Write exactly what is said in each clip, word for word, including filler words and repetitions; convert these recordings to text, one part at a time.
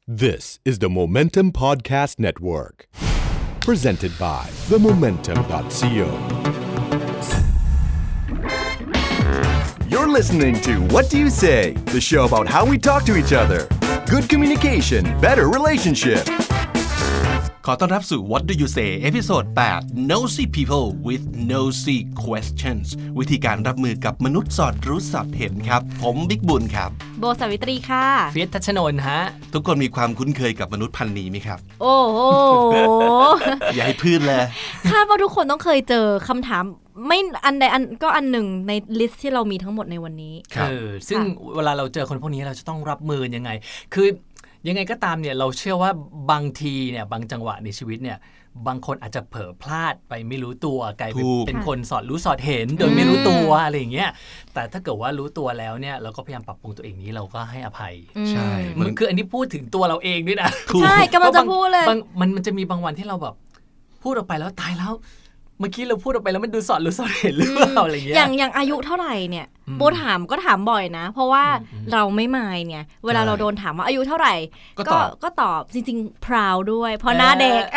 This is the Momentum Podcast Network, presented by the momentum dot co. You're listening to What Do You Say, the show about how we talk to each other. Good communication, better relationship. ขอต้อนรับสู่ What Do You Say เอพิโซดแปด Nosy People with Nosy Questions วิธีการรับมือกับมนุษย์สอดรู้สอดเห็นครับผมบิ๊กบุญครับโบสาวิตรีค่ะเฟียสทัชนนท์ฮะทุกคนมีความคุ้นเคยกับมนุษย์พันธุ์นี้ไหมครับโอ้โหอย่าให้พืชเลยคาดว่าทุกคนต้องเคยเจอคำถามไม่อันใดอันก็อันหนึ่งในลิสต์ที่เรามีทั้งหมดในวันนี้เออซึ่งเวลาเราเจอคนพวกนี้เราจะต้องรับมือยังไงคือยังไงก็ตามเนี่ยเราเชื่อว่าบางทีเนี่ยบางจังหวะในชีวิตเนี่ยบางคนอาจจะเผลอพลาดไปไม่รู้ตัวกลายเป็นเป็นคนสอดรู้สอดเห็นโดยไม่รู้ตัวอะไรอย่างเงี้ยแต่ถ้าเกิดว่ารู้ตัวแล้วเนี่ยเราก็พยายามปรับปรุงตัวเองนี้เราก็ให้อภัยใช่เหมือนคืออันนี้พูดถึงตัวเราเองด้วยนะใช่กำลังจะพูดเลยมันมันจะมีบางวันที่เราแบบพูดออกไปแล้วตายแล้วเมื่อกี้เราพูดออกไปแล้วมันดูสอดรู้สอดเห็นหรือเปล่าอะไรเงี้ยอย่างอย่างอายุเท่าไหร่เนี่ยโบถามก็ถามบ่อยนะเพราะว่าเราไม่มายเนี่ยเวลาเราโดนถามว่าอายุเท่าไหร่ก็ก็ตอบจริงๆ proud ด้วยเพราะหน้าเด็ก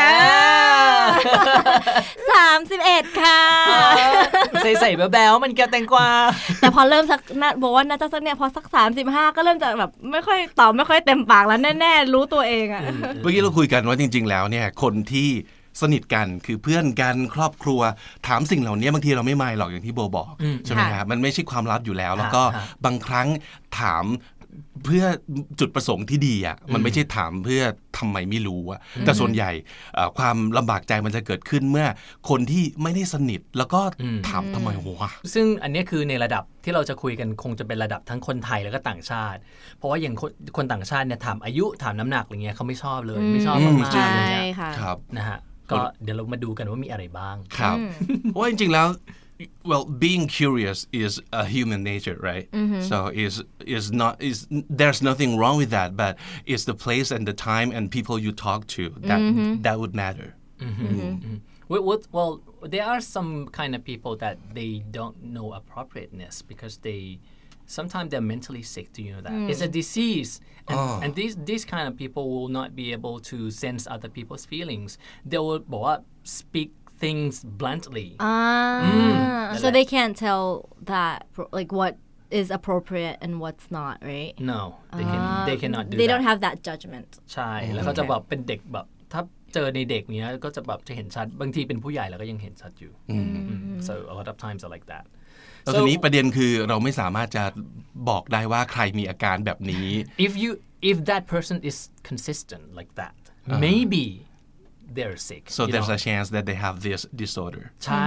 สามสิบเอ็ดค่ะใส่ๆแบ๊วๆมันแก้วแตงกวาแต่พอเริ่มสักบอกว่าน่าจะสักเนี่ยพอสักสามสิบห้าก็เริ่มจะแบบไม่ค่อยตอบไม่ค่อยเต็มปากแล้วแน่ๆรู้ตัวเองอ่ะเมื่อกี้เราคุยกันว่าจริงๆแล้วเนี่ยคนที่สนิทกันคือเพื่อนกันครอบครัวถามสิ่งเหล่านี้บางทีเราไม่มายหรอกอย่างที่โบบอกใช่ไหมครับมันไม่ใช่ความลับอยู่แล้วแล้วก็บางครั้งถามเพื่อจุดประสงค์ที่ดีอ่ะมันไม่ใช่ถามเพื่อทำไมไม่รู้อ่ะแต่ส่วนใหญ่ความลำบากใจมันจะเกิดขึ้นเมื่อคนที่ไม่ได้สนิทแล้วก็ถามทำไมวะซึ่งอันนี้คือในระดับที่เราจะคุยกันคงจะเป็นระดับทั้งคนไทยแล้วก็ต่างชาติเพราะว่าอย่างคนต่างชาติเนี่ยถามอายุถามน้ำหนักอะไรเงี้ยเขาไม่ชอบเลยไม่ชอบมากๆเลยครับนะฮะก็เดี๋ยวเรามาดูกันว่ามีอะไรบ้างครับว่าจริงๆแล้ว well being curious is a human nature right mm-hmm. so is is not is there's nothing wrong with that but it's the place and the time and people you talk to that mm-hmm. that would matter mm-hmm. Mm-hmm. Well, well there are some kind of people that they don't know appropriateness because they sometimes they're mentally sick. Do you know that? Mm. It's a disease. And, oh. and these, these kind of people will not be able to sense other people's feelings. They will well, speak things bluntly. Ah, mm. So they can't tell that, like, what is appropriate and what's not, right? No, they, can, uh, they cannot do they that. They don't have that judgment. ใช่แล้วเขาจะแบบเป็นเด็กแบบถ้าเจอในเด็กเนี้ยก็จะแบบจะเห็นชัดบางทีเป็นผู้ใหญ่แล้วก็ยังเห็นชัดอยู่ So a lot of times are like that. แล้วทีนี้ประเด็นคือเราไม่สามารถจะบอกได้ว่าใครมีอาการแบบนี้ if you if that person is consistent like that uh-huh. maybe they're sick so there's know? a chance that they have this disorder ใช่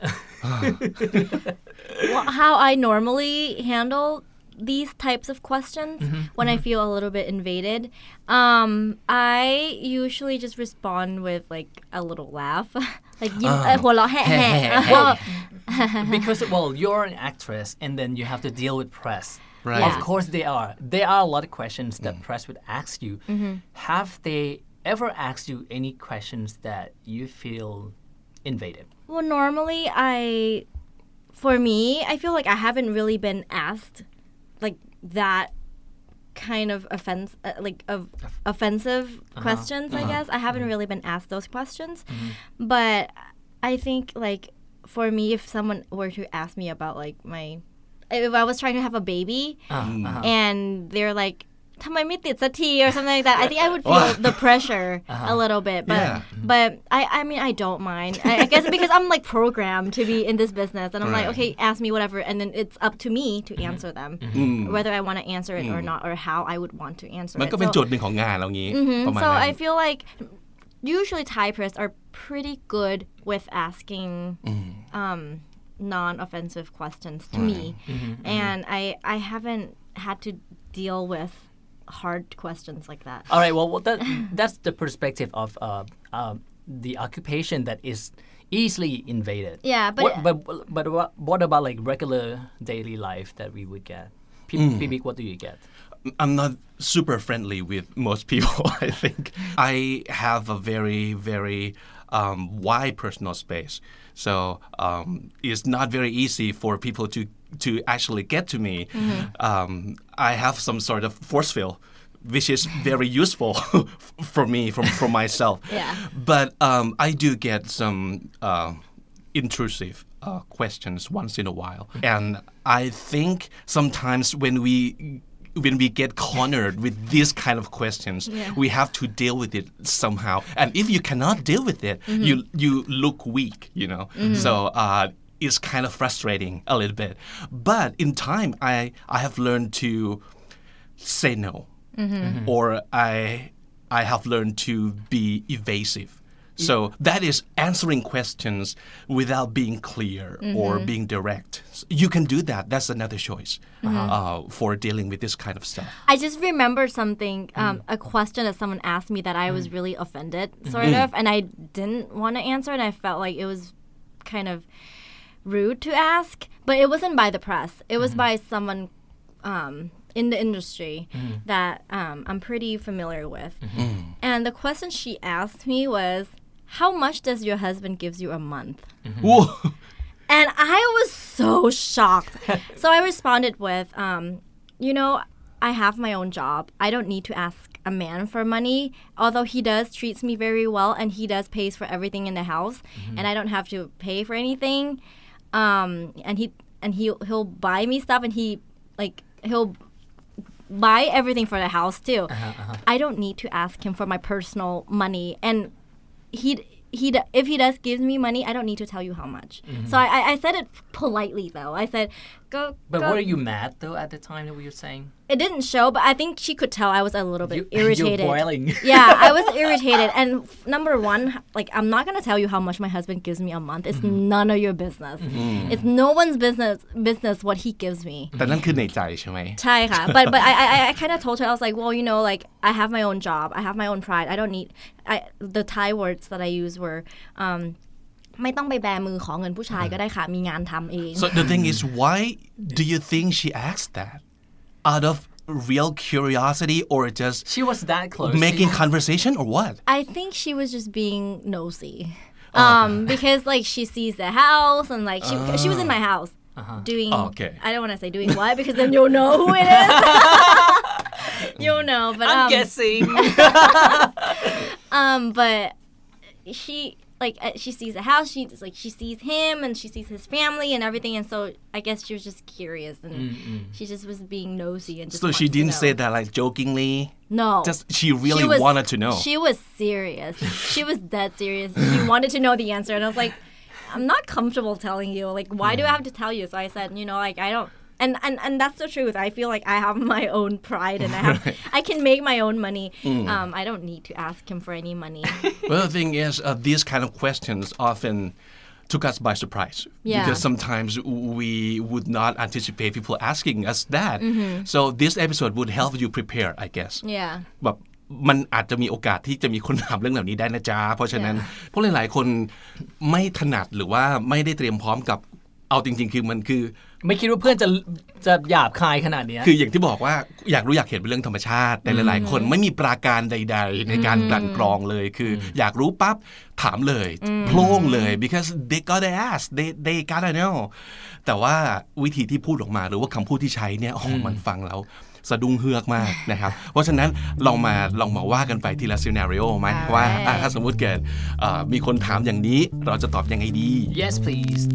well, how I normally handle these types of questions mm-hmm. when mm-hmm. I feel a little bit invaded um I usually just respond with like a little laugh like ยิ้มหัวเราะแห่ๆ well because well you're an actress and then you have to deal with press right of course they are there are a lot of questions that mm. press would ask you mm-hmm. have they ever asked you any questions that you feel invaded well normally I for me I feel like I haven't really been asked like that kind of offense uh, like of offensive uh-huh. questions uh-huh. I guess I haven't really been asked those questions mm-hmm. but I think like for me if someone were to ask me about like my if I was trying to have a baby uh-huh. and they're like ทำไมไม่ติดสักที or something like that I think I would feel the pressure uh-huh. a little bit but yeah. but I I mean I don't mind I, I guess because I'm like programmed to be in this business and I'm right. like okay ask me whatever and then it's up to me to answer them mm-hmm. whether I want to answer it mm. or not or how I would want to answer มัน it ก็เป็นโจทย์หนึ่งของงานเรางี้ mm-hmm. ประมาณ so นั้น I feel like usually Thai press are pretty good with asking mm. um non-offensive questions to right. me mm-hmm. and I I haven't had to deal with hard questions like that. All right, well, well that, that's the perspective of uh, uh, the occupation that is easily invaded. Yeah, but what, but but what, what about like regular daily life that we would get? P- mm. What do you get? I'm not super friendly with most people. I think I have a very very um, wide personal space, so um, it's not very easy for people to to actually get to me. Mm-hmm. Um, I have some sort of force field which is very useful for me from for myself. Yeah. But um, I do get some uh, intrusive uh, questions once in a while, and I think sometimes when we when we get cornered with these kind of questions, Yeah. we have to deal with it somehow. And if you cannot deal with it, mm-hmm. you you look weak, you know. Mm-hmm. So uh, it's kind of frustrating a little bit. But in time, I I have learned to say no, mm-hmm. or I I have learned to be evasive. So that is answering questions without being clear mm-hmm. or being direct. You can do that. That's another choice mm-hmm. uh, for dealing with this kind of stuff. I just remember something, um, mm. a question that someone asked me that I was really offended, sort mm. of, and I didn't want to answer, and I felt like it was kind of rude to ask. But it wasn't by the press. It was mm-hmm. by someone um, in the industry mm. that um, I'm pretty familiar with. Mm-hmm. And the question she asked me was, how much does your husband gives you a month? Mm-hmm. And I was so shocked. So I responded with, um, you know, I have my own job. I don't need to ask a man for money, although he does treats me very well and he does pays for everything in the house mm-hmm. and I don't have to pay for anything. Um, and he and he he'll buy me stuff and he like he'll buy everything for the house too. Uh-huh, uh-huh. I don't need to ask him for my personal money, and he he if he does give me money, I don't need to tell you how much. Mm-hmm. So I I said it politely though. I said go. But go. were you mad though at the time that we were saying? It didn't show, but I think she could tell I was a little bit you, irritated. You're boiling. Yeah, I was irritated. And number one, like I'm not gonna tell you how much my husband gives me a month. It's mm-hmm. none of your business. Mm-hmm. It's no one's business business what he gives me. แต่นั่นคือในใจใช่ไหมใช่ค่ะ but but I I I kind of told her I was like, well, you know, like I have my own job, I have my own pride. I don't need. I the Thai words that I used were. Um, ไม่ต้องไปแบมือขอเงินผู้ชายก็ได้ค่ะมีงานทำเอง So the thing is, why do you think she asked that? Out of real curiosity or just she was that close making conversation or what? I think she was just being nosy. Um, because like she sees the house and like she uh, she was in my house uh-huh. doing. Oh, okay. I don't want to say doing what because then you'll know who it is. You'll know, but I'm um, guessing. um, but she. Like uh, she sees the house, she like she sees him and she sees his family and everything, and so I guess she was just curious and mm-hmm. she just was being nosy and just. So she didn't to say that like jokingly. No. Just she really she was, wanted to know. She was serious. She was dead serious. She wanted to know the answer, and I was like, I'm not comfortable telling you. Like, why mm. do I have to tell you? So I said, you know, like I don't. And, and and that's the truth. I feel like I have my own pride and I have I can make my own money. Mm. Um, I don't need to ask him for any money. Well, the thing is, uh, these kind of questions often took us by surprise. Yeah. Because sometimes we would not anticipate people asking us that. Mm-hmm. So this episode would help you prepare, I guess. Yeah. แบบมันอาจจะมีโอกาสที่จะมีคนถามเรื่องเหล่านี้ได้นะจ๊ะเพราะฉะนั้นพวกหลายๆคนไม่ถนัดหรือว่าไม่ได้เตรียมพร้อมกับเอาจริงๆคือมันคือไม่คิดว่าเพื่อนจะจะหยาบคายขนาดนี้คืออย่างที่บอกว่าอยากรู้อยากเห็นเป็นเรื่องธรรมชาติแต่หลายๆคนไม่มีปราการใดๆในการกลั่นกรองเลยคืออยากรู้ปั๊บถามเลยโพล่งเลย because they gotta ask they they gotta know แต่ว่าวิธีที่พูดออกมาหรือว่าคำพูดที่ใช้เนี่ยอ๋อมันฟังแล้วสะดุ้งเฮือกมากนะครับเพราะฉะนั้นลองมาลองมาว่ากันไปทีละซีนาริโอไหมว่าถ้าสมมุติเกิดมีคนถามอย่างนี้เราจะตอบยังไงดี Yes please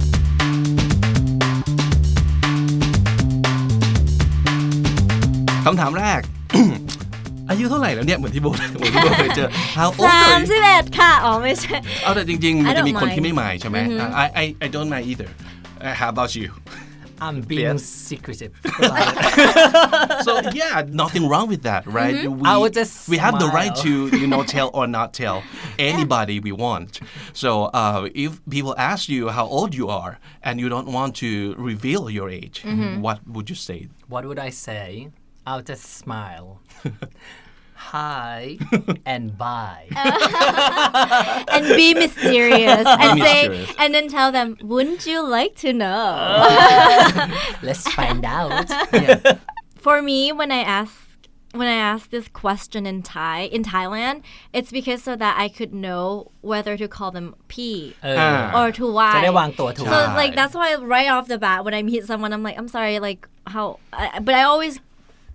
คำถามแรก อายุเท่าไหร่แล้วเนี่ยเหมือนที่โบเหมือนที่โบเคยเจอ How old สามสิบเอ็ดค่ะอ๋อไม่ใช่เอาแต่จริงๆมันจะมีคนที่ไม่หมายใช่ไหม I I I don't mind either How about you I'm being secretive So yeah nothing wrong with that right mm-hmm. we, I would just we have smile. the right to you know tell or not tell anybody we want so uh, if people ask you how old you are and you don't want to reveal your age mm-hmm. what would you say what would I say I'll just smile hi and bye and be mysterious and be say mysterious. And then tell them wouldn't you like to know let's find out yeah. For me when I ask when I ask this question in Thai in Thailand it's because so that I could know whether to call them P uh, or to Y จะได้วางตัวถูก so like that's why right off the bat when I meet someone I'm like I'm sorry like how I, but I always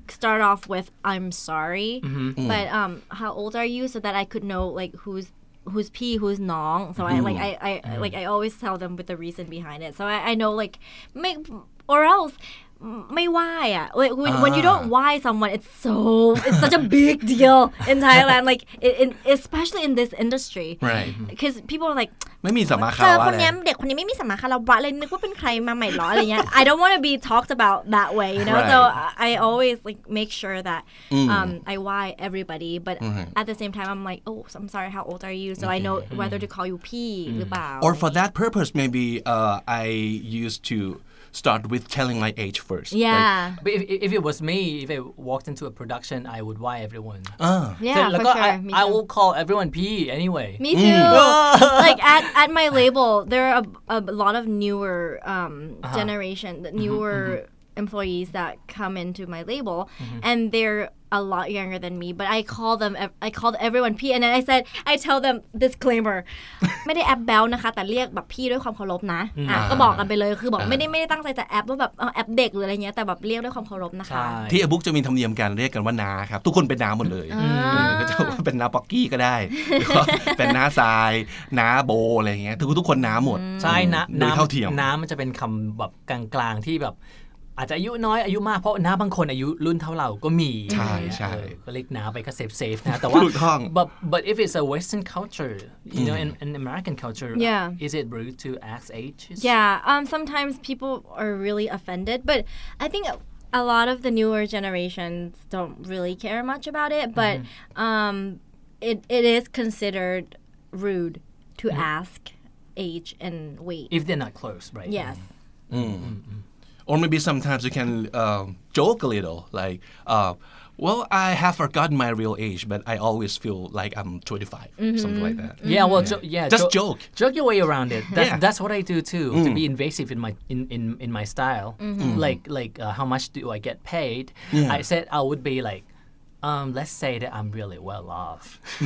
start off with I'm sorry mm-hmm. but um how old are you so that I could know like who's who's P who's น้อง so I like I I mm-hmm. like I always tell them with the reason behind it so I I know like make or elseไม่ไหว้อ่ะ like when, when you don't ไหว้ someone it's so it's such a big deal in Thailand like in, in, especially in this industry right because people are like ไม่มีสัมมาคารเจวะอคนอะไรนี้เด็กคนนี้ไม่มีสัมมาคารวะเลยนึกว่าเป็นใครมาใหม่หรออะไรเงี้ย I don't want to be talked about that way you know right. so I always like make sure that um I why everybody but mm-hmm. at the same time I'm like oh I'm sorry how old are you so I know whether to call you P หรือเปล่า or for that purpose maybe uh, I used to start with telling my age first yeah like, but if, if it was me if I walked into a production I would why everyone uh. yeah so, for like, sure I, I will call everyone P anyway me too mm. like at, at my label there are a, a lot of newer um, uh-huh. generation newer mm-hmm. employees that come into my label mm-hmm. and they're a lot younger than me but I call them I called everyone P and then I said I tell them disclaimer ไม่ได้แอปแบลนะคะแต่เรียกแบบพี่ด้วยความเคารพนะอ่ะก็บอกกันไปเลยคือบอกไม่ได้ไม่ได้ตั้งใจจะแอปว่าแบบแอปเด็กหรืออะไรเงี้ยแต่แบบเรียกด้วยความเคารพนะคะที่อบุ๊กจะมีธรรมเนียมการเรียกกันว่าน้าครับทุกคนเป็นน้าหมดเลยก็จะว่าเป็นน้าป๊อกกี้ก็ได้เป็นน้าทรายน้าโบอะไรเงี้ยทุกทุกคนน้าหมดใช่นะน้าเท่าเทียมน้ามันจะเป็นคำแบบกลางๆที่แบบอาจจะอายุน้อยอายุมากเพราะน้าบางคนอายุรุ่นเท่าเราก็มีใช่ใช่ก็เรียกน้าไปก็เซฟเซฟนะแต่ว่า but but if it's a Western culture you know in in American culture yeah is it rude to ask ages yeah um sometimes people are really offended but I think a lot of the newer generations don't really care much about it but mm-hmm. um it it is considered rude to mm-hmm. ask age and weight if they're not close right yes mm-hmm. Or maybe sometimes you can uh, joke a little, like, uh, well, I have forgotten my real age, but I always feel like I'm twenty-five, mm-hmm. something like that. Yeah, well, yeah, jo- yeah just jo- joke, joke your way around it. That's yeah. that's what I do too, mm. to be invasive in my in in, in my style. Mm-hmm. Like like uh, how much do I get paid? Yeah. I said I would be like. Um, let's say that I'm really well off.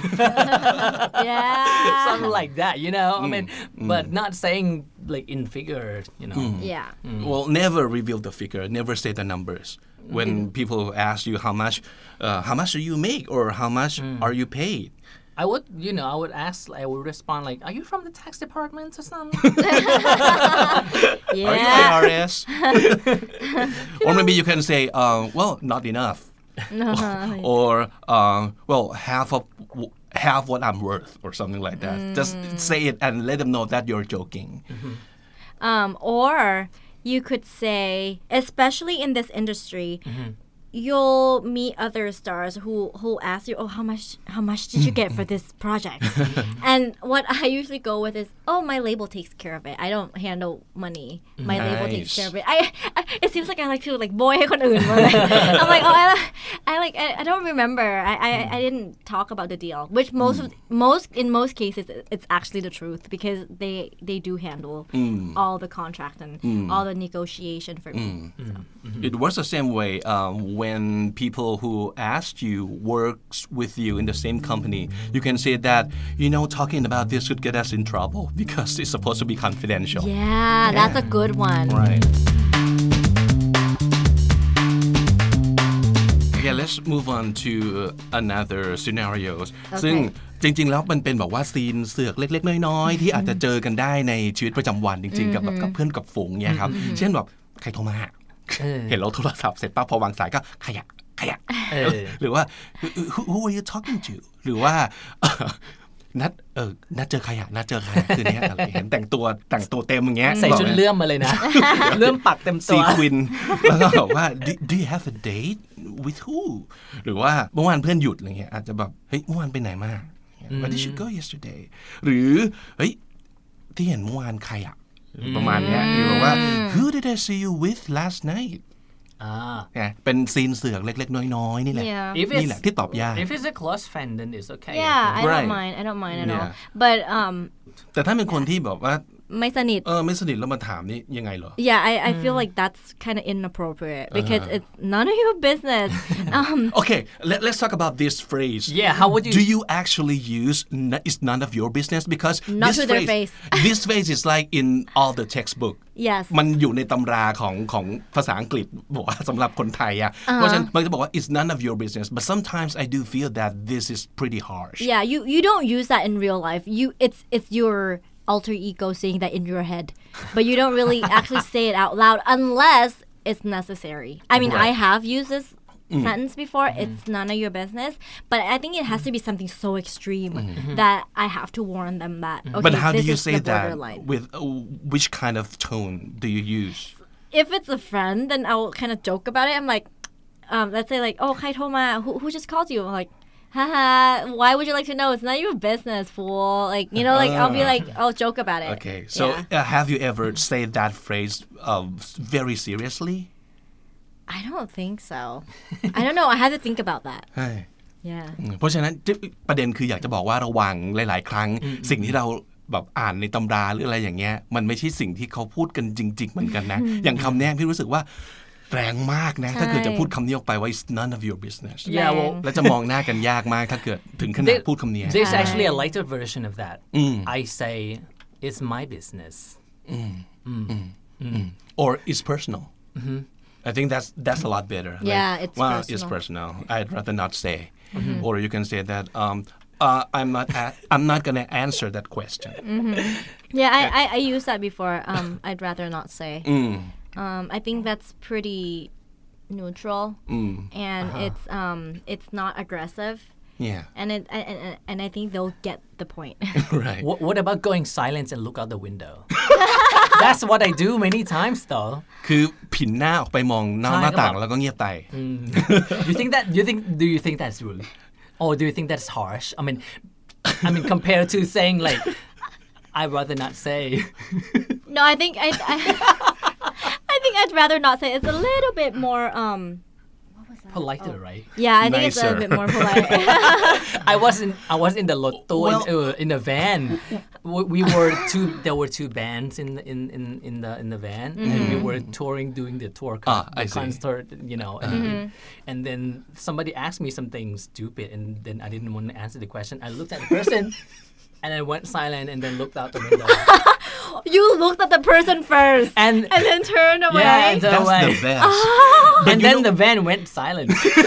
yeah. Something like that, you know? Mm. I mean, mm. but not saying like in figures, you know? Mm. Yeah. Mm. Well, never reveal the figure, never say the numbers. When mm. people ask you how much, uh, how much do you make or how much mm. are you paid? I would, you know, I would ask, I would respond like, are you from the tax department or something? yeah. Are you I R S? Or maybe you can say, uh, well, not enough. or uh, well half of half what I'm worth or something like that mm. just say it and let them know that you're joking mm-hmm. um, or you could say especially in this industry mm-hmm. you'll meet other stars who who ask you oh how much how much did you get for this project and what I usually go with is oh my label takes care of it I don't handle money my nice. label takes care of it I, I it seems like I like to like boy ให้คนอื่นหมดเลย I'm like oh I, I like I, I don't remember I, I I didn't talk about the deal which most mm. of most in most cases it's actually the truth because they they do handle mm. all the contract and mm. all the negotiation for me mm. so. mm-hmm. It works the same way um, when people who asked you works with you in the same company, you can say that, you know, talking about this could get us in trouble because it's supposed to be confidential. Yeah, yeah. That's a good one. Right. Okay, let's move on to another scenarios. Okay. ซึ่งจริงๆแล้วมันเป็นแบบว่าซีนเสือกเล็กๆน้อยๆที่อาจจะเจอกันได้ในชีวิตประจำวันจริงๆกับแบบกับเพื่อนกับฝูงเนี่ยครับเช่นแบบใครโทรมาเห็นเราโทรศัพท์เสร็จปั๊บพอวางสายก็ขยะขยะหรือว่า who, who are you talking to หรือว่านัดเออนัดเจอขยะนัดเจอขยะคืนนี้อะไรเห็นแต่งตัวแต่งตัวเต็มอย่างเงี้ยใส่ชุดเลื่อมมาเลยนะเลื่อมปักเต็มตัวซีควินแล้วก็บอกว่า do you have a date with who หรือว่าเมื่อวานเพื่อนหยุดอะไรเงี้ยอาจจะแบบเฮ้ยเมื่อวานไปไหนมา where did you go yesterday หรือเฮ้ยที่เห็นเมื่อวานใครอะประมาณเนี้ยคือบอกว่า who did I see you with last night อ่าเป็นซีนเสือกเล็กๆน้อยๆนี่แหละนี่แหละที่ตอบยาก if it's a close friend then it's okay yeah I don't mind I don't mind at all but um แต่ถ้าเป็นคนที่แบบว่าไม่สนิทเออไม่สนิทแล้วมาถามนี่ยังไงเหรอ Yeah, I I feel like that's kind of inappropriate because it's none of your business. Um, Okay, let, let's talk about this phrase. Yeah, how would you- Do you actually use n- "it's none of your business"? Because Not this to their phrase, face. this phrase is like in all the textbook. Yes. มันอยู่ในตำราของของภาษาอังกฤษบอกว่าสำหรับคนไทยอ่ะเพราะฉะนั้นมันจะบอกว่า it's none of your business but sometimes I do feel that this is pretty harsh. Yeah, you you don't use that in real life. You it's it's your alter ego saying that in your head, but you don't really actually say it out loud unless it's necessary. I mean, I have used this sentence before. It's none of your business, but I think it has to be something so extreme that I have to warn them that okay, But how do this you is say the that borderline. with uh, which kind of tone do you use? If it's a friend, then I'll kind of joke about it. I'm like, um, let's say like, oh, hi Toma, who who just called you? I'm like, haha, why would you like to know? It's not your business, fool. Like, you know, like I'll be like, I'll joke about it. Okay, so Yeah. uh, have you ever said that phrase uh, very seriously? I don't think so. I don't know. I had to think about that. ใช่ Yeah. เพราะฉะนั้นประเด็นคืออยากจะบอกว่าระวังหลายๆครั้งสิ่งที่เราแบบอ่านในตำราหรืออะไรอย่างเงี้ยมันไม่ใช่สิ่งที่เขาพูดกันจริงๆเหมือนกันนะ อย่างคำเนี้ยพี่รู้สึกว่าแรงมากนะถ้าเกิดจะพูดคำนี้ออกไปว่า it's none of your business Yeah, well, แล้วจะมองหน้ากันยากมากถ้าเกิดถึงขนาด there- พูดคำนี้ there's actually a lighter version of that. I say, it's my business. or it's personal I think that's that's a lot better Yeah, like, it's well personal. it's personal I'd rather not say or you can say that um uh, I'm not a- I'm not gonna answer that question Yeah, I, I, I used that before. Um, I'd rather not say. Um, I think that's pretty neutral, and it's um, it's not aggressive, yeah and it and, and, and I think they'll get the point. right What, what about going silent and look out the window? That's what I do many times, though. คือผินหน้าออกไปมองนอกหน้าต่างแล้วก็เงียบไป You think that? You think? Do you think that's rude, or do you think that's harsh? I mean, I mean, compared to saying like, I'd rather not say. No, I think I, I I think I'd rather not say. It's a little bit more um. Politer, right? Yeah, I think it's Nicer. uh, a bit more polite. I wasn't. I was in the lotto Well- in, uh, in the van. We, we were two. There were two bands in the, in, in, in the in the van, and we were touring, doing the tour, con- Ah, I the see. concert. You know, and, and then somebody asked me something stupid, and then I didn't want to answer the question. I looked at the person, and I went silent, and then looked out the window. You looked at the person first, And and then turned away. yeah, and, that's away. the best and then the van went silent.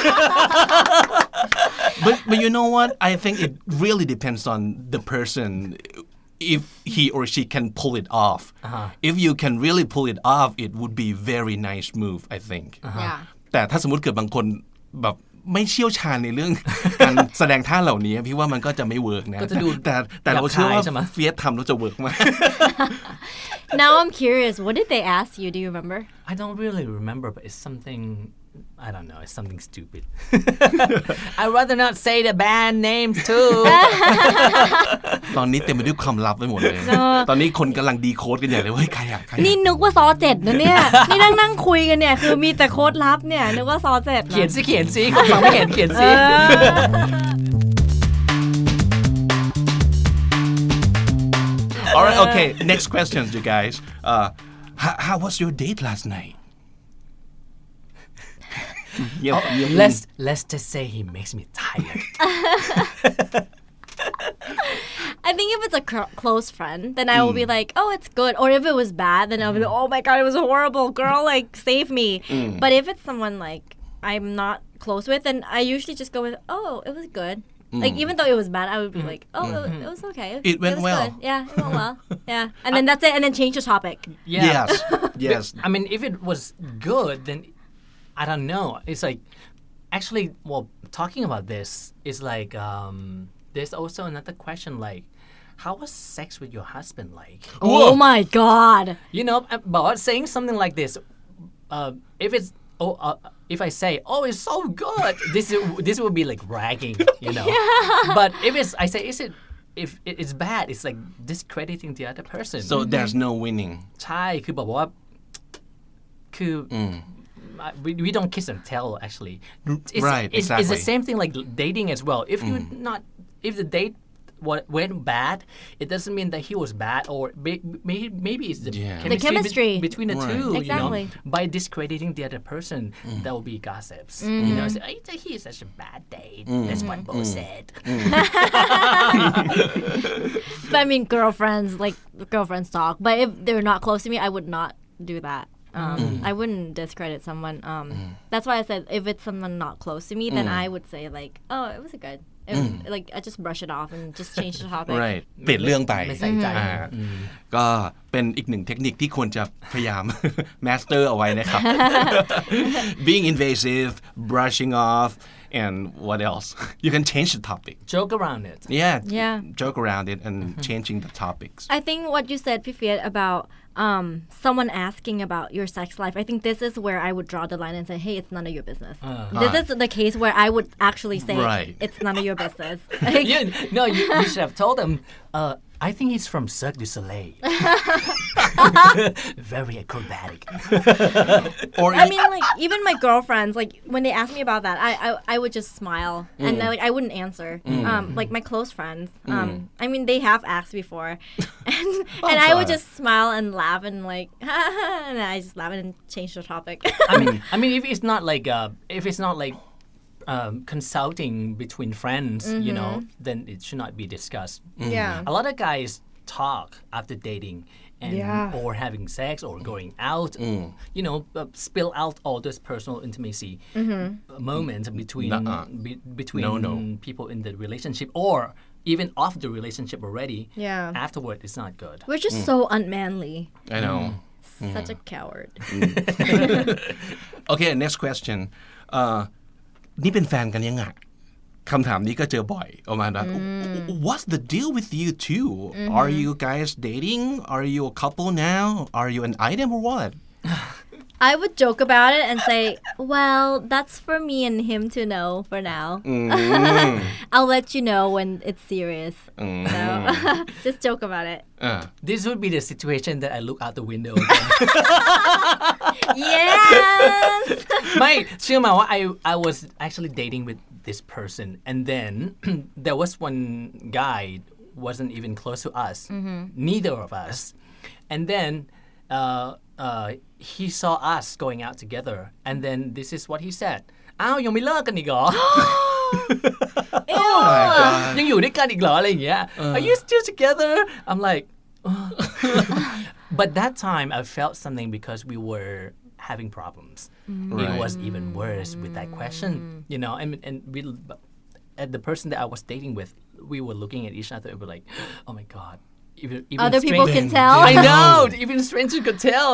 but but you know what I think it really depends on the person if he or she can pull it off if you can really pull it off it would be very nice move I think Yeah. แต่ถ้าสมมติเกิดบางคนแบบไม่เชี่ยวชาญในเรื่อง การแสดงท่าเหล่านี้พี่ว่ามันก็จะไม่เวิร์กนะก็จะดูแต่แต่เราเชื่อว่าหยาบคายใช่ไหมเฟียสทำแล้วจะเวิร์กมาก Now I'm curious. What did they ask you? Do you remember? I don't really remember, but it's something. I don't know. It's something stupid. I'd rather not say the band names too. ตอนนี้เต็มไปด้วยความลับไปหมดเลย ตอนนี้คนกำลังดีโค้ดกันใหญ่เลยว่าเฮ้ยใครอะใครอะนี่นึกว่าซอเจ็ดนะเนี่ย นี่นั่งนั่งคุยกันเนี่ยคือมีแต่โค้ดลับเนี่ยนึกว่าซอเจ็ดนะเขียนสิเขียนสิคนฟังไม่เห็นเขียนสิ All right, okay. Next questions, you guys. Uh, how, how was your date last night? Yep, yep. Let's let's just say he makes me tired. I think if it's a cr- close friend, then I will be like, oh, it's good. Or if it was bad, then I'll be like, oh my God, it was horrible. Girl, like, save me. But if it's someone like I'm not close with, then I usually just go with, oh, it was good. Like, even though it was bad, I would be like, oh, it, it was okay. It went was well. Good. Yeah, it went well. Yeah. And then that's it. And then change the topic. Yeah. Yes, yes. I mean, if it was good, then I don't know. It's like actually, well, talking about this is like um, there's also another question like, how was sex with your husband like? Oh my God. You know, about saying something like this, uh, if it's oh, uh, if I say, oh, it's so good, this is, this would be like bragging, you know. But if it's I say, is it if it's bad, it's like discrediting the other person. So there's no winning. ใช่คือบอกว่าคือ we, we don't kiss and tell actually. It's, Right, it's, it's the exactly. same thing like dating as well. If you not if the date what went bad, it doesn't mean that he was bad, or maybe maybe it's the Yeah. chemistry, The chemistry. be- between the Right. two. Exactly. You know, by discrediting the other person, that will be gossips. Mm-hmm. You know, say, oh, he's such a bad date. That's what Bo said. But I mean, girlfriends, like girlfriends talk. But if they're not close to me, I would not do that. Um, I wouldn't discredit someone. Um, That's why I said if it's someone not close to me, then I would say like, oh, it was good. It, Like I just brush it off and just change the topic. right เปลี่ยนเรื่องไปไม่ใส่ใจอ่าก็เป็นอีกหนึ่งเทคนิคที่ควรจะพยายาม master เอาไว้นะครับ being invasive brushing off and what else you can change the topic Joke around it. yeah Yeah. joke around it and changing the topics I think what you said, Pifiat, about um, someone asking about your sex life, I think this is where I would draw the line and say, hey, it's none of your business. This is the case where I would actually say, Right. it's none of your business. you, no, you, you should have told him, uh, I think he's from Cirque du Soleil. Very acrobatic. or I mean, like, even my girlfriends, like, when they ask me about that, I I, I would just smile. And, I, like, I wouldn't answer. Um, like, my close friends. Um, I mean, they have asked before. And, and I would God. just smile and laugh and, like, and I just laugh and change the topic. I mean, I mean, if it's not like, uh, if it's not like um, consulting between friends, you know, then it should not be discussed. Yeah. A lot of guys talk after dating and Yeah. or having sex or going out, you know, uh, spill out all this personal intimacy moments between Nuh-uh. be, between No, no. people in the relationship or even off the relationship already. Yeah. Afterward, it's not good. We're just so unmanly. I know Such a coward. okay next question เอ่อนี่เป็นแฟนกันยังไงคำถามนี้ก็เจอบ่อยประมาณว่า what's the deal with you two are you guys dating are you a couple now are you an item or what I would joke about it and say, well, that's for me and him to know for now. I'll let you know when it's serious. So, just joke about it. อ่า This would be the situation that I look out the window again. Yes! ไม่เชื่อมาว่า I I was actually dating with this person and then there was one guy wasn't even close to us neither of us and then uh, uh, he saw us going out together and then this is what he said อ้าวยังไม่เลิกกันอีกเหรอ oh my god ยังอยู่ด้วยกันอีกเหรออะไรอย่างเงี้ย Are you still together I'm like but that time I felt something because we were having problems Right. it was even worse with that question you know and and we and the person that I was dating with we were looking at each other and we're like oh my god even, even Other people strangers- can tell. I know even strangers could tell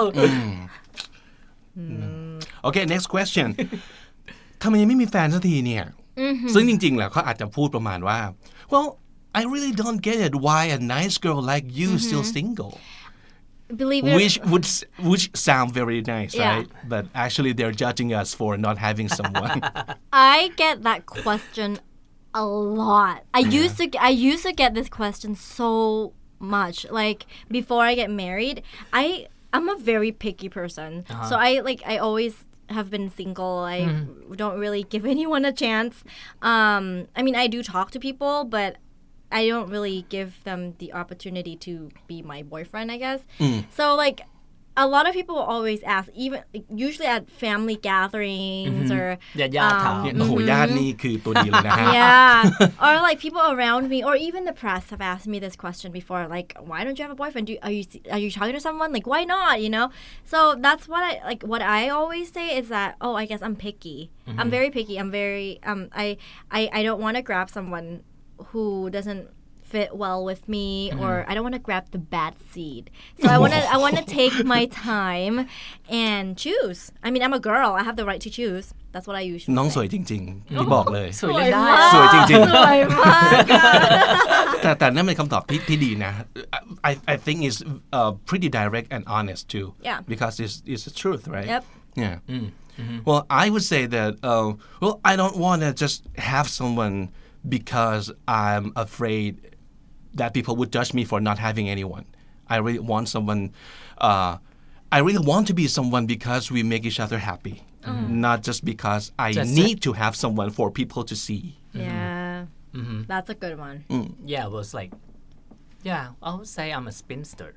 okay next question ทำไมยังไม่มีแฟนสักทีเนี่ย ซึ่งจริงๆแล้วเขาอาจจะพูดประมาณว่า well I really don't get it why a nice girl like you still single Believe it. which would which sound very nice Yeah. right but actually they're judging us for not having someone I get that question a lot. I used to I used to get this question so much. Like before I get married, I I'm a very picky person. So I like I always have been single. I don't really give anyone a chance. Um I mean I do talk to people, but I don't really give them the opportunity to be my boyfriend, I guess. So like a lot of people always ask, even usually at family gatherings or ญาติๆถามเนี่ยโอ้โหญาตินี่คือตัวดีเลยนะฮะ yeah, or like people around me, or even the press have asked me this question before, like, why don't you have a boyfriend? Do are you are you talking to someone? Like, why not? You know. So that's what I like. What I always say is that, oh, I guess I'm picky. I'm very picky. I'm very um. I I I don't want to grab someone who doesn't fit well with me, or I don't want to grab the bad seed. So I want to I want to take my time and choose. I mean, I'm a girl. I have the right to choose. That's what I usually น้อง say. สวยจริงๆที่บอกเลยสวยเล่นได้สวยจริงๆสวยมากอะแต่แต่นั่นเป็นคำตอบที่ที่ดีนะ I I think it's uh, pretty direct and honest too Yeah. because it's it's the truth right Yep. yeah well I would say that uh, well I don't want to just have someone because I'm afraid that people would judge me for not having anyone I really want someone uh, I really want to be someone because we make each other happy not just because I Just- need to have someone for people to see Yeah. Mm-hmm. That's a good one. Mm. Yeah, it was like, yeah, I would say I'm a spinster.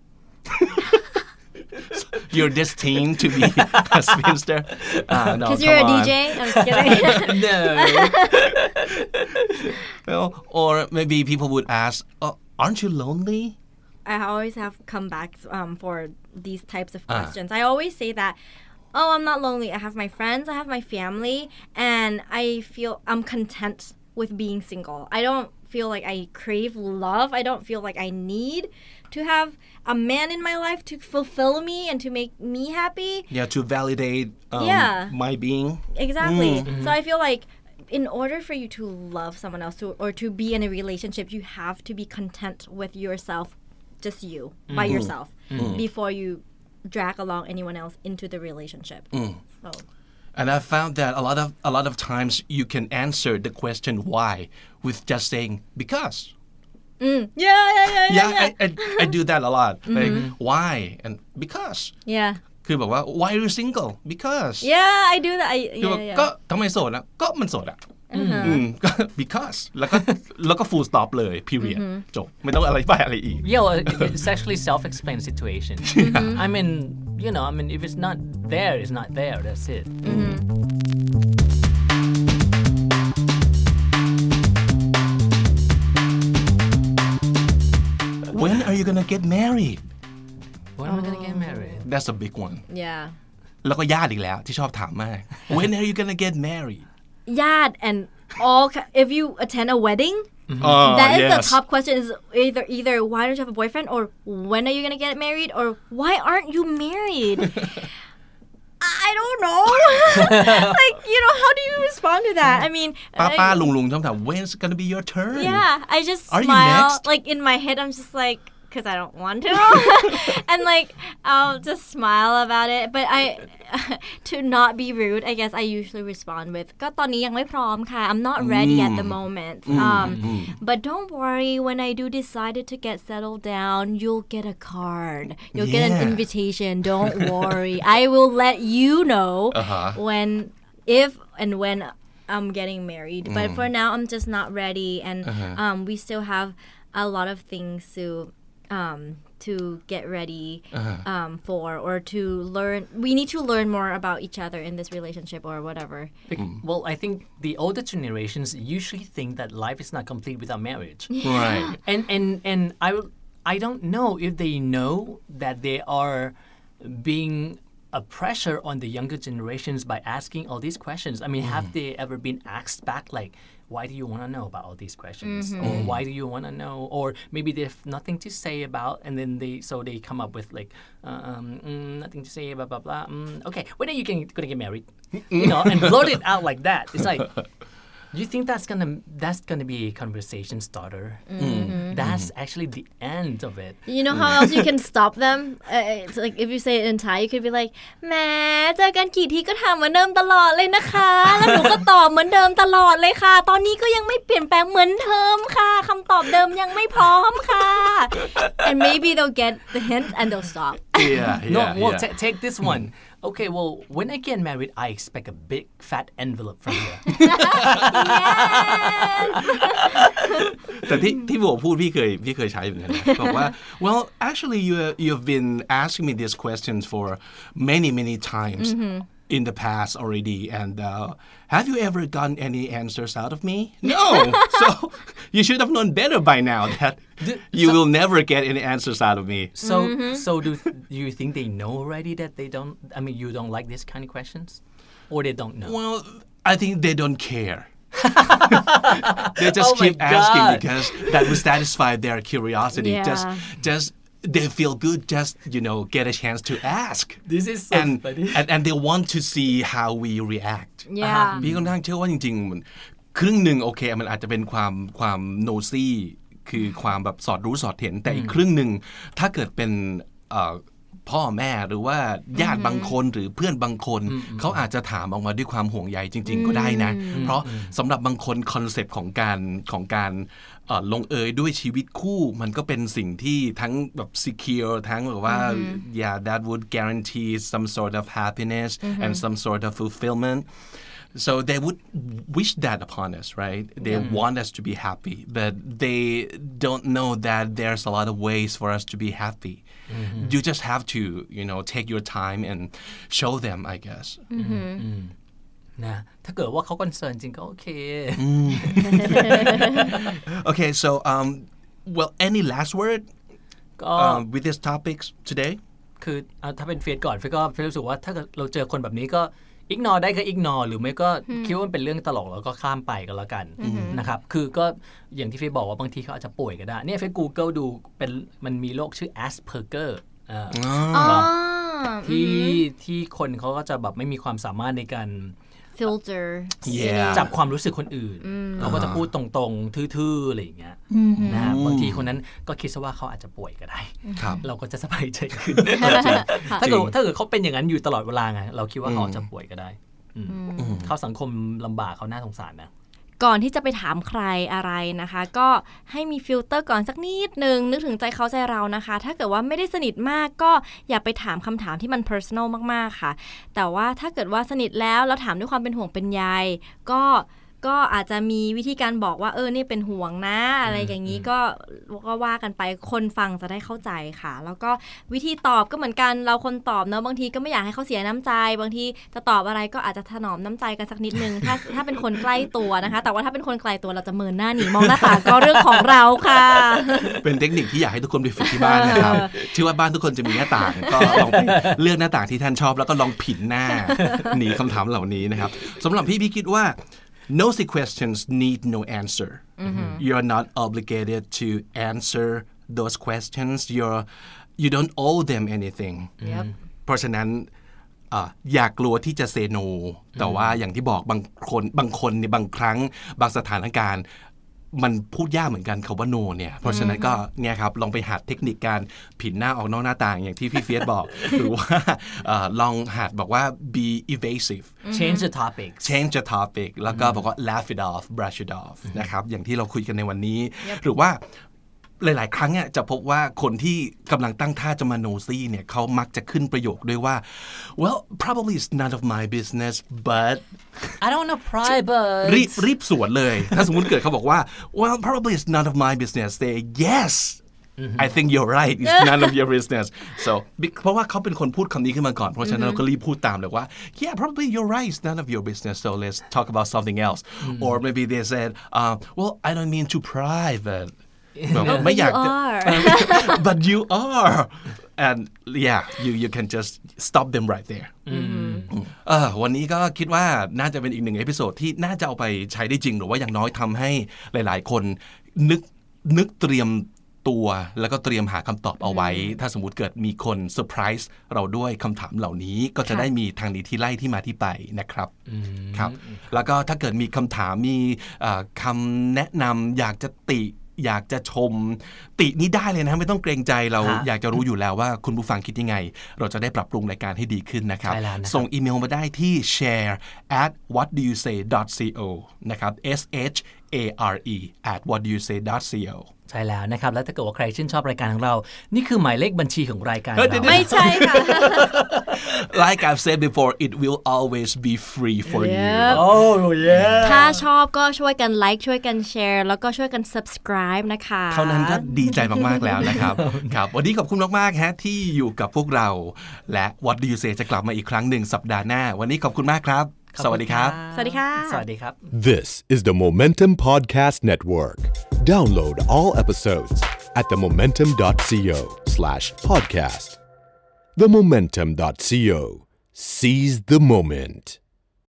You're destined to be a spinster. Uh, no, Because you're a on. D J? I'm just kidding. No. Well, or maybe people would ask, oh, aren't you lonely? I always have comebacks um, for these types of Ah. questions. I always say that, oh, I'm not lonely. I have my friends, I have my family, and I feel I'm content with being single. I don't feel like I crave love. I don't feel like I need to have a man in my life to fulfill me and to make me happy. Yeah, to validate um, Yeah. my being. Exactly. So I feel like in order for you to love someone else to, or to be in a relationship, you have to be content with yourself, just you, by yourself, before you drag along anyone else into the relationship. So. And I found that a lot of a lot of times you can answer the question why with just saying because. Yeah, yeah, yeah, yeah. Yeah, yeah. I, I, I do that a lot. Like, why? And because. Yeah. คือบอกว่า why are you single? Because. Yeah, I do that. I, คือแบบ yeah, yeah. ก็ทำไมโสดนะก็มันโสดอ่ะอืมก็ because แล้วก็แล้วก็ full stop เลย period จบไม่ต้องอะไรไปอะไรอีก Yeah, well, it's actually self-explained situation. I mean, you know, I mean, if it's not there, it's not there. That's it. When are you gonna get married? When am I gonna get married? That's a big one. Yeah. แล้วก็ญาติอีกแล้วที่ชอบถามมาก When are you gonna get married? Yeah, and all ki- if you attend a wedding, Oh, that is yes. the top question is either either why don't you have a boyfriend or when are you gonna get married or why aren't you married? I don't know. Like, you know, how do you respond to that? I mean, ป้า I- ป้าลุงลุงชอบถาม When's it gonna be your turn? yeah, I just Are you smile. next? Like in my head, I'm just like, because I don't want to, and like I'll just smile about it. But I, to not be rude, I guess I usually respond with, ก็ตอนนี้ยังไม่พร้อมค่ะ. I'm not ready at the moment. Um, but don't worry. When I do decided to get settled down, you'll get a card. You'll get an Yeah. invitation. Don't worry. I will let you know Uh-huh. when, if and when I'm getting married. But for now, I'm just not ready, and um, we still have a lot of things to um, to get ready um, for, or to learn. We need to learn more about each other in this relationship or whatever. Bec- Well, I think the older generations usually think that life is not complete without marriage. Right. and and and I will- I don't know if they know that they are being a pressure on the younger generations by asking all these questions. I mean, have they ever been asked back like, why do you want to know about all these questions, or why do you want to know, or maybe they have nothing to say about, and then they so they come up with like, um, mm, nothing to say, blah blah blah. Mm, okay, when are you going to get married? You know, and blurt it out like that. It's like. Do you think that's gonna that's gonna be a conversation starter? That's actually the end of it. You know how else you can stop them? Uh, it's like if you say it in Thai, you could be like, แหมเจอกันกี่ทีก็ถามเหมือนเดิมตลอดเลยนะคะ แล้วหนูก็ตอบเหมือนเดิมตลอดเลยค่ะ ตอนนี้ก็ยังไม่เปลี่ยนแปลงเหมือนเดิมค่ะคำตอบเดิมยังไม่พร้อมค่ะ And maybe they'll get the hint and they'll stop. Yeah, yeah, No, well, yeah. ta- take this one. Okay, well, when I get married, I expect a big fat envelope from you. แต่ที่ที่ผมพูดพี่เคยพี่เคยใช้เหมือนกันนะบอกว่า well actually you you've been asking me these questions for many many times in the past already and uh, have you ever gotten any answers out of me no so you should have known better by now that you will never get any answers out of me So, so do do you think they know already that they don't? I mean, you don't like this kind of questions, or they don't know? well I think they don't care they just Oh my keep asking God. because that will satisfy their curiosity Yeah. just just they feel good just you know get a chance to ask This is so and, funny. and and they want to see how we react Yeah. พี่ค่อนข้างเชื่อว่าจริงๆมันครึ่งหนึ่งโอเคมันอาจจะเป็นความความโนซี่คือความแบบสอดรู้สอดเห็นแต่อีกครึ่งหนึ่งถ้าเกิดเป็นเอ่อพ่อแม่หรือว่าญาติบางคนหรือเพื่อนบางคนเขาอาจจะถามออกมาด้วยความห่วงใยจริง ๆ ก็ได้นะ เพราะสำหรับบางคนคอนเซปต์ของการของการเอ่อลงเอยด้วยชีวิตคู่มันก็เป็นสิ่งที่ทั้งแบบ secure ทั้งแบบว่า yeah that would guarantee some sort of happiness and some sort of fulfillment So they would wish that upon us, right? They mm. want us to be happy, but they don't know that there's a lot of ways for us to be happy. Mm-hmm. You just have to, you know, take your time and show them, I guess. Mm-hmm. นะถ้าเกิดว่าเขาคอนเซิร์นจริงก็โอเค Okay, so um, well, any last word um, with these topics today? คือถ้าเป็นเฟซก่อนเฟซก็เฟซรู้สึกว่าถ้าเราเจอคนแบบนี้ก็อิกนอได้ก็อิกนอหรือไม่ก็คิดว่ามันเป็นเรื่องตลกแล้วก็ข้ามไปก็แล้วกันนะครับคือก็อย่างที่เฟซบอกว่าบางทีเขาอาจจะป่วยก็ได้เนี่ยเฟซ Google ดูเป็นมันมีโรคชื่อ Asperger ที่ที่คนเขาก็จะแบบไม่มีความสามารถในการ filter จับความรู้สึกคนอื่นเขาก็จะพูดตรงๆทื่อๆอะไรอย่างเงี้ยนะบางทีคนนั้นก็คิดซะว่าเขาอาจจะป่วยก็ได้เราก็จะสบายใจขึ้นถ้าเกิดถ้าเกิดเขาเป็นอย่างนั้นอยู่ตลอดเวลาไงเราคิดว่าเขาจะป่วยก็ได้เข้าสังคมลำบากเขาน่าสงสารนะก่อนที่จะไปถามใครอะไรนะคะก็ให้มีฟิลเตอร์ก่อนสักนิดนึงนึกถึงใจเขาใจเรานะคะถ้าเกิดว่าไม่ได้สนิทมากก็อย่าไปถามคำถามที่มัน personal มากๆค่ะแต่ว่าถ้าเกิดว่าสนิทแล้วแล้วถามด้วยความเป็นห่วงเป็นใยก็ก็อาจจะมีวิธีการบอกว่าเออนี่เป็นห่วงนะอะไรอย่างนี้ก็ก็ว่ากันไปคนฟังจะได้เข้าใจค่ะแล้วก็วิธีตอบก็เหมือนกันเราคนตอบเนอะบางทีก็ไม่อยากให้เขาเสียน้ำใจบางทีจะตอบอะไรก็อาจจะถนอมน้ำใจกันสักนิดนึงถ้าถ้าเป็นคนใกล้ตัวนะคะแต่ว่าถ้าเป็นคนไกลตัวเราจะเมินหน้าหนีมองหน้าต่างก็เรื่องของเราค่ะเป็นเทคนิคที่อยากให้ทุกคนไปฝึกที่บ้านนะครับเชื่อว่าบ้านทุกคนจะมีหน้าต่างก็ลองไปเลือกหน้าต่างที่ท่านชอบแล้วก็ลองผินหน้าหนีคำถามเหล่านี้นะครับสำหรับพี่พี่คิดว่าnosy questions need no answer. Mm-hmm. You're not obligated to answer those questions. You're you don't owe them anything. Yep. เพราะฉะนั้นอย่ากลัวที่จะ say no แต่ว่าอย่างที่บอกบางคนบางคนในบางครั้งบางสถานการณ์มันพูดยากเหมือนกันคำว่า no เนี่ยเพราะฉะนั้นก็เนี่ยครับลองไปหัดเทคนิคการผินหน้าออกนอกหน้าต่างอย่างที่พี่เฟียสบอก หรือว่าลองหัดบอกว่า be evasive change the topic change the topic แล้วก็บอกว่า laugh it off brush it off นะครับอย่างที่เราคุยกันในวันนี้ หรือว่าหลายๆครั้งเนี่ยจะพบว่าคนที่กำลังตั้งท่าจะมาโนซี่เนี่ยเขามักจะขึ้นประโยคด้วยว่า well probably it's none of my business but I don't wanna pry but รีบรีบสวนเลยถ้าสมมุติเกิดเขาบอกว่า well probably it's none of my business say yes I think you're right it's none of your business so เพราะว่าเขาเป็นคนพูดคำนี้ขึ้นมาก่อนเพราะฉะนั้นเราก็รีบพูดตามเลยว่า yeah probably you're right it's none of your business so let's talk about something else or maybe they said uh, well I don't mean to pry but ไม่อยากจะ but you are and yeah you you can just stop them right there เออวันนี้ก็คิดว่าน่าจะเป็นอีกหนึ่งเอพิโซดที่น่าจะเอาไปใช้ได้จริงหรือว่าอย่างน้อยทำให้หลายๆคนนึกนึกเตรียมตัวแล้วก็เตรียมหาคำตอบเอาไว้ถ้าสมมุติเกิดมีคนเซอร์ไพรส์เราด้วยคำถามเหล่านี้ก็จะได้มีทางนี้ที่ไล่ที่มาที่ไปนะครับครับแล้วก็ถ้าเกิดมีคำถามมีคำแนะนำอยากจะติอยากจะชมตินี้ได้เลยนะไม่ต้องเกรงใจเราอยากจะรู้อยู่แล้วว่าคุณผู้ฟังคิดยังไงเราจะได้ปรับปรุงรายการให้ดีขึ้นนะครับส่งอีเมลมาได้ที่ share at what do you say dot co นะครับ s h a r e at what do you say dot co ใช่แล้วนะครับแล้วถ้าเกิดว่าใครชื่นชอบรายการของเรานี่คือหมายเลขบัญชีของรายการเราไม่ใช่ค่ะ Like I've said before it will always be free for yep. you Oh yeah ถ้าชอบก็ช่วยกันไลค์ช่วยกันแชร์แล้วก็ช่วยกัน subscribe นะคะเท่านั้นก็ดีใจมากๆแล้วนะครับครับวันนี้ขอบคุณมากๆฮะที่อยู่กับพวกเราและ What do you say จะกลับมาอีกครั้งหนึ่งสัปดาห์หน้าวันนี้ขอบคุณมากครับสวัสดีครับสวัสดีค่ะสวัสดีครับ This is the Momentum Podcast Network. Download all episodes at the momentum dot co slash podcast. the momentum dot co. Seize the moment.